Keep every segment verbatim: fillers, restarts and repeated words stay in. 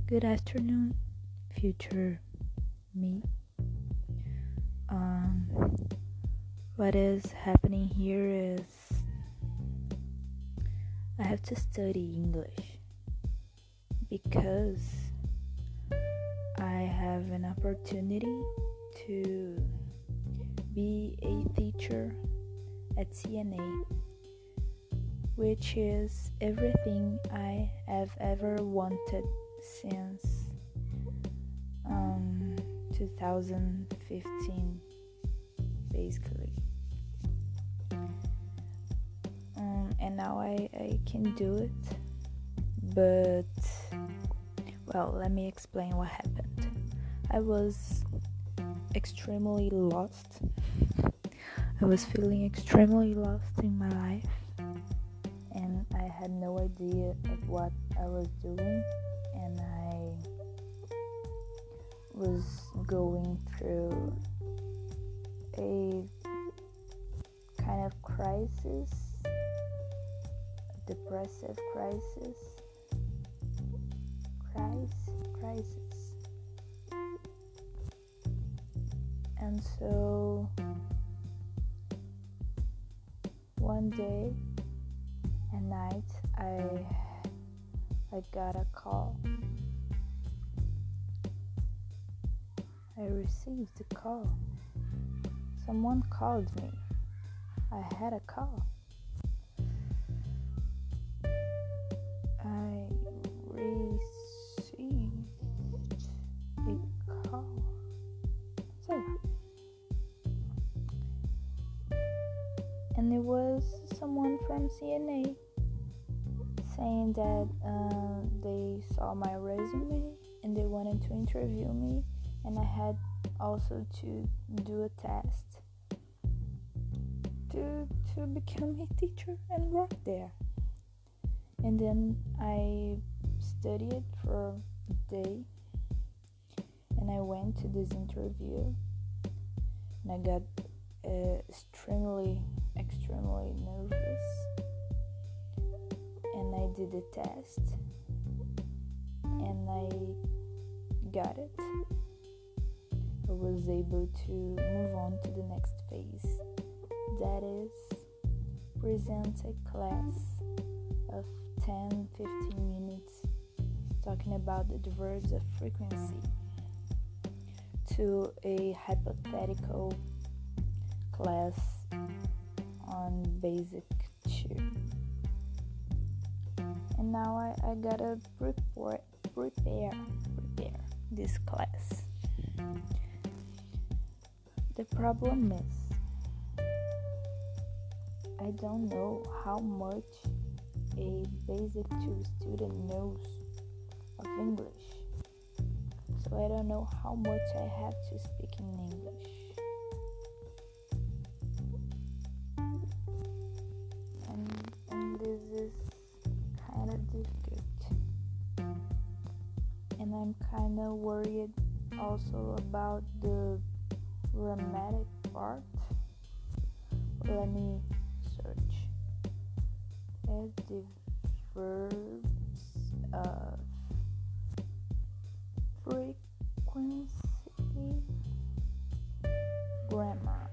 Good afternoon, future me. Um, what is happening here is I have to study English because I have an opportunity to be a teacher at C N A, which is everything I have ever wanted since um, two thousand fifteen, basically. Um, and now I, I can do it, but well, let me explain what happened. I was extremely lost. I was feeling extremely lost in my life, and I had no idea of what I was doing, and I was going through a kind of crisis, a depressive crisis, crisis, crisis. And so one day at night, I I got a call. I received a call. Someone called me. I had a call. I received a call. So, and it was someone from C N A saying that uh, they saw my resume and they wanted to interview me, and I had also to do a test to to become a teacher and work there. And then I studied for a day, and I went to this interview, and I got uh, extremely, extremely nervous. And I did the test, and I got it. I was able to move on to the next phase, that is, present a class of ten to fifteen minutes talking about the verbs of frequency to a hypothetical class on basic two. And now I, I gotta prepare, prepare, prepare this class. The problem is, I don't know how much a basic two student knows of English. So I don't know how much I have to speak in English. And, and this is kind of difficult. And I'm kind of worried also about the grammatic part. Let me search. Adverbs of frequency, grammar.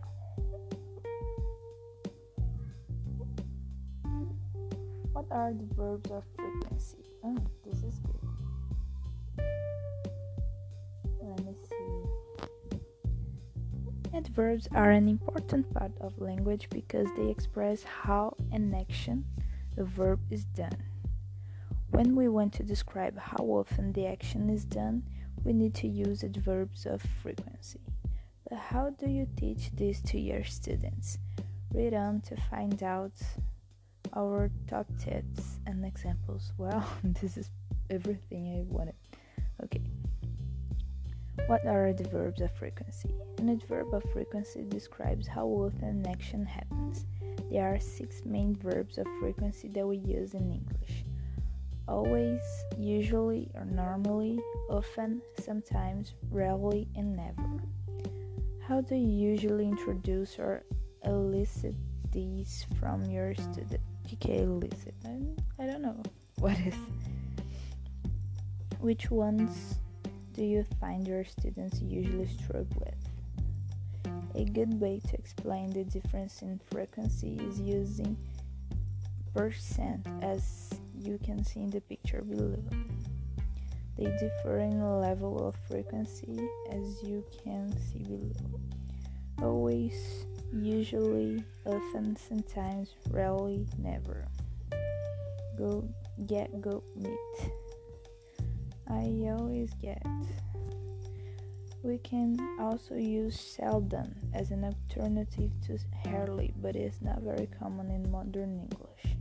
What are the verbs of frequency? Oh, this is good. Let me see. Adverbs are an important part of language because they express how an action, a verb, is done. When we want to describe how often the action is done, we need to use adverbs of frequency. But how do you teach this to your students? Read on to find out our top tips and examples. Well, this is everything I wanted. Okay. What are adverbs of frequency? An adverb of frequency describes how often an action happens. There are six main verbs of frequency that we use in English: always, usually or normally, often, sometimes, rarely, and never. How do you usually introduce or elicit these from your student? Okay, elicit. I, I don't know what is. Which ones do you find your students usually struggle with? A good way to explain the difference in frequency is using percent, as you can see in the picture below. They differ in level of frequency, as you can see below. Always, usually, often, sometimes, rarely, never. Go get, go meet. I always get. We can also use seldom as an alternative to rarely, but it's not very common in modern English.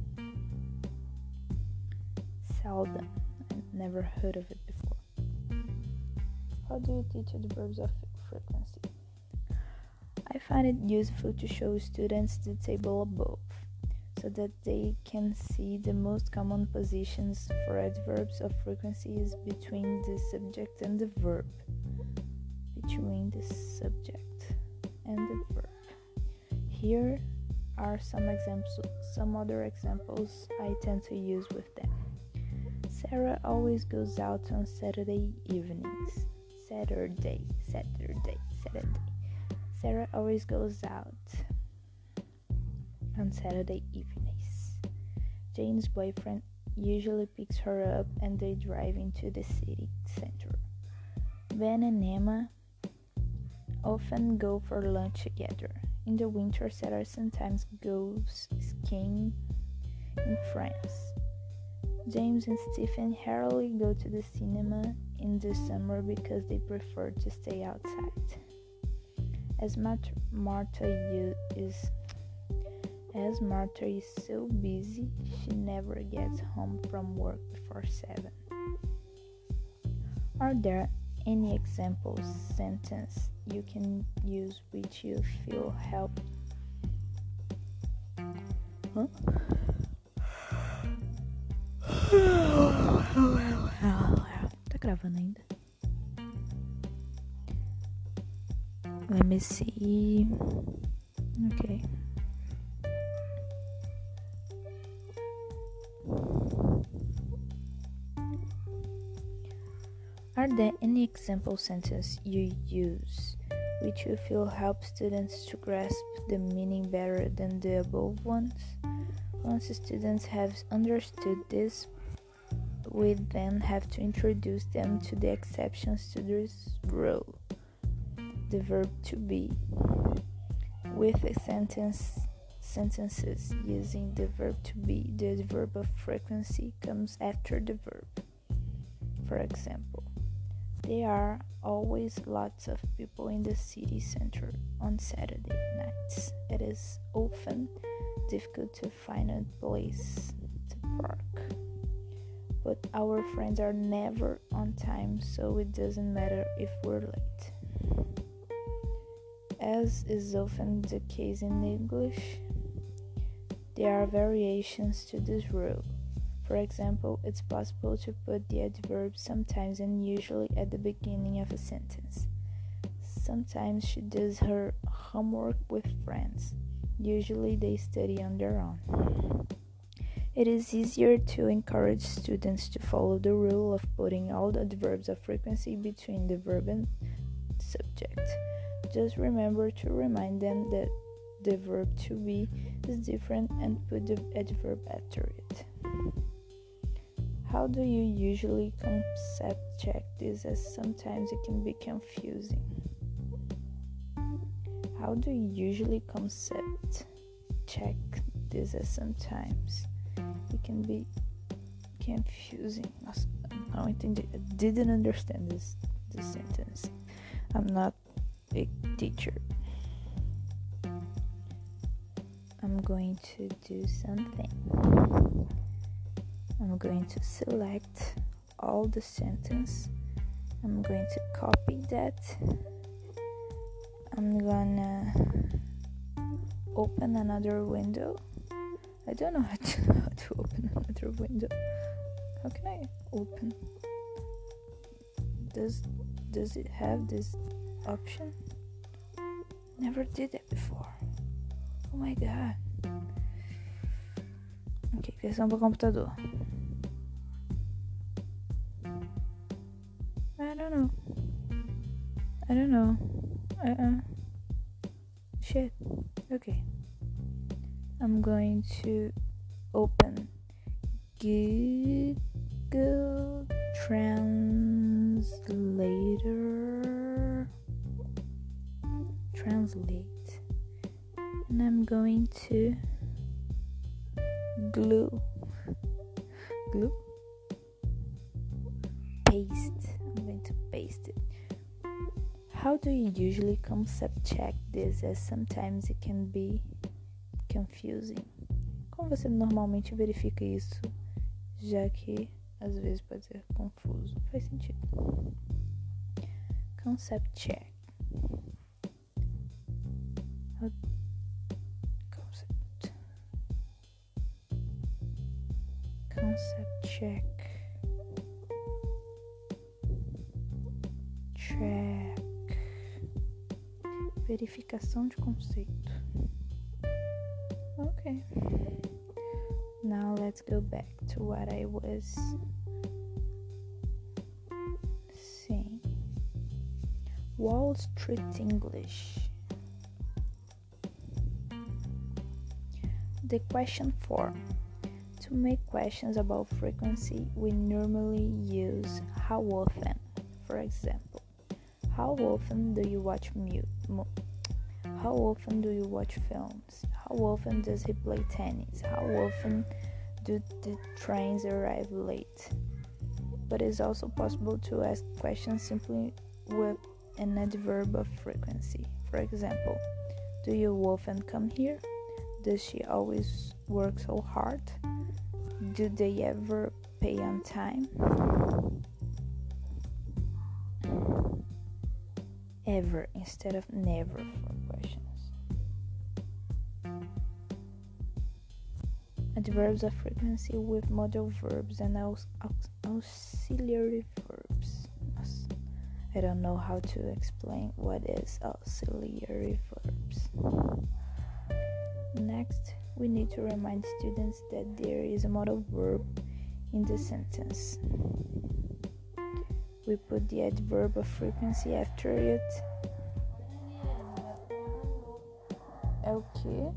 Seldom. I never heard of it before. How do you teach adverbs of frequency? I find it useful to show students the table above, so that they can see the most common positions for adverbs of frequency is between the subject and the verb. Between the subject and the verb. Here are some examples, some other examples I tend to use with them. Sarah always goes out on Saturday evenings. Saturday, Saturday, Saturday. Sarah always goes out on Saturday evenings. Jane's boyfriend usually picks her up and they drive into the city center. Ben and Emma often go for lunch together. In the winter, Sarah sometimes goes skiing in France. James and Stephen rarely go to the cinema in the summer because they prefer to stay outside. As Martha, Martha is as Martha is so busy, she never gets home from work before seven. Are there any example sentence you can use which you feel help? Huh? Tá gravando ainda? Let me see. Okay. Are there any example sentences you use which you feel help students to grasp the meaning better than the above ones? Once students have understood this, we then have to introduce them to the exceptions to this rule, the verb to be, with a sentence sentences using the verb to be. The adverb of frequency comes after the verb. For example, there are always lots of people in the city center on Saturday nights. It is often difficult to find a place to park. But our friends are never on time, so it doesn't matter if we're late. As is often the case in English, there are variations to this rule. For example, it's possible to put the adverb sometimes and usually at the beginning of a sentence. Sometimes she does her homework with friends. Usually they study on their own. It is easier to encourage students to follow the rule of putting all the adverbs of frequency between the verb and subject. Just remember to remind them that the verb to be is different and put the adverb after it. How do you usually concept check this, as sometimes it can be confusing? How do you usually concept check this, as sometimes it can be confusing? Nossa, não entendi. I didn't understand this, this sentence. I'm not a teacher. I'm going to do something. I'm going to select all the sentence. I'm going to copy that. I'm gonna open another window. I don't know how to, how to open another window. How can I open? Does does it have this option? Never did it before. Oh my god. Ok, criação para computador. I don't know. I don't know. Uh-uh. Shit. Okay. I'm going to open Google Translator. Translate. And I'm going to glue. Glue? Paste. I'm going to paste it. How do you usually concept check this, as sometimes it can be confusing? Como você normalmente verifica isso, já que às vezes pode ser confuso? Faz sentido. Concept check. Concept. Concept check. Check. Verificação de conceito. Okay. Now let's go back to what I was saying. Wall Street English. The question form. To make questions about frequency, we normally use how often. For example, how often do you watch mute? Mo- How often do you watch films? How often does he play tennis? How often do the trains arrive late? But it's also possible to ask questions simply with an adverb of frequency. For example, do you often come here? Does she always work so hard? Do they ever pay on time? Ever instead of never for questions. Adverbs of frequency with modal verbs and aux- aux- auxiliary verbs. I don't know how to explain what is auxiliary verbs. Next, we need to remind students that there is a modal verb in the sentence. We put the adverb of frequency after it. É o quê?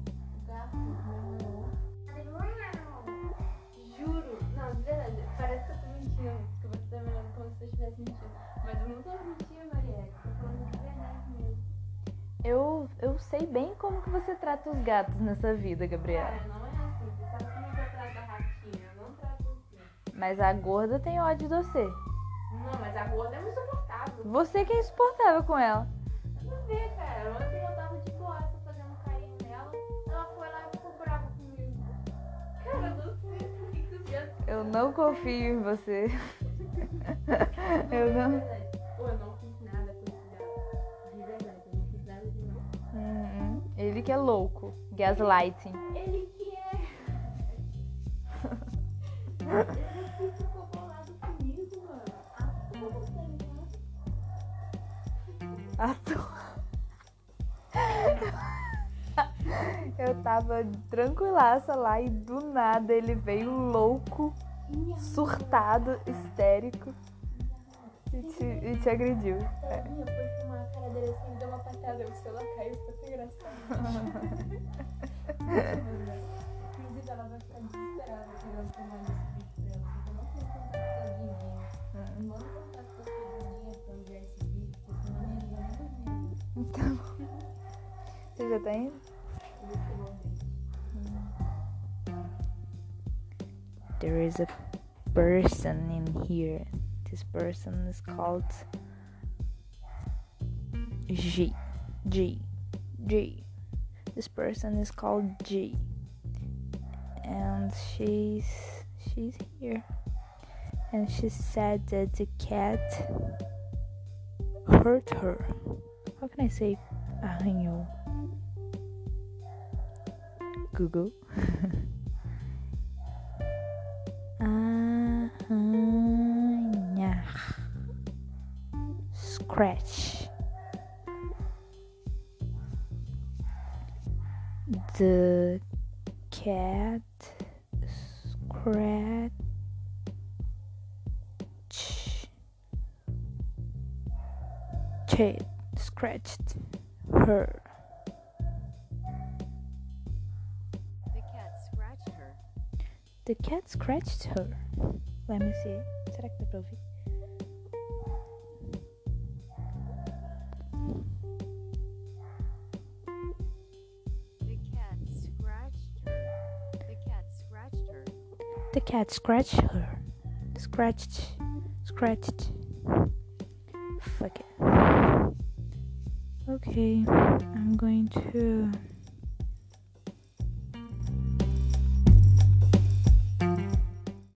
Juro, não, de verdade, parece que eu tô mentindo, que você tá me olhando como se eu estivesse mentindo. Mas eu não tô mentindo, Marielle, tô falando de verdade mesmo. Eu, eu sei bem como que você trata os gatos nessa vida, Gabriela. Cara, não é assim, você sabe como eu trato a ratinha, eu não trato assim. Mas a gorda tem ódio de você. Não, mas a gorda é muito insuportável. Você que é insuportável com ela. Não vê, cara, ontem eu tava de boaça fazendo carinho nela, ela foi lá e ficou brava comigo. Cara, eu não sei por que que os gatos... Eu não confio em você. Eu não. De verdade. Pô, eu não fiz nada com esse gato. De verdade, eu não fiz nada demais. Hum, ele que é louco. Gaslighting. Ele que é. Ele que ficou bolado comigo, mano. À toa, tá ligado? À toa. Eu tava tranquilaça lá e do nada ele veio louco, surtado, histérico e te, e te agrediu. Ela vinha, foi filmar a cara dele assim, deu uma patada, o celular caiu, ficou tão engraçado. Inclusive, ela vai ficar desesperada querendo filmar esse vídeo pra ela, porque eu não tenho contato com a Didinha. Manda contato com a Didinha pra eu ver esse vídeo, porque senão nem ele vai nem dormir. Então, você já tá indo? There is a person in here. This person is called G. G. G. This person is called G. And she's she's here. And she said that the cat hurt her. How can I say arranhou? Google. Arranhar. Scratch. The cat scratched scratched, scratched her. The cat scratched her. The cat scratched her. Let me see. Será que dá pra ouvir? The cat scratched her. The cat scratched her. The cat scratched her. Scratched. Scratched. Fuck it. Okay, I'm going to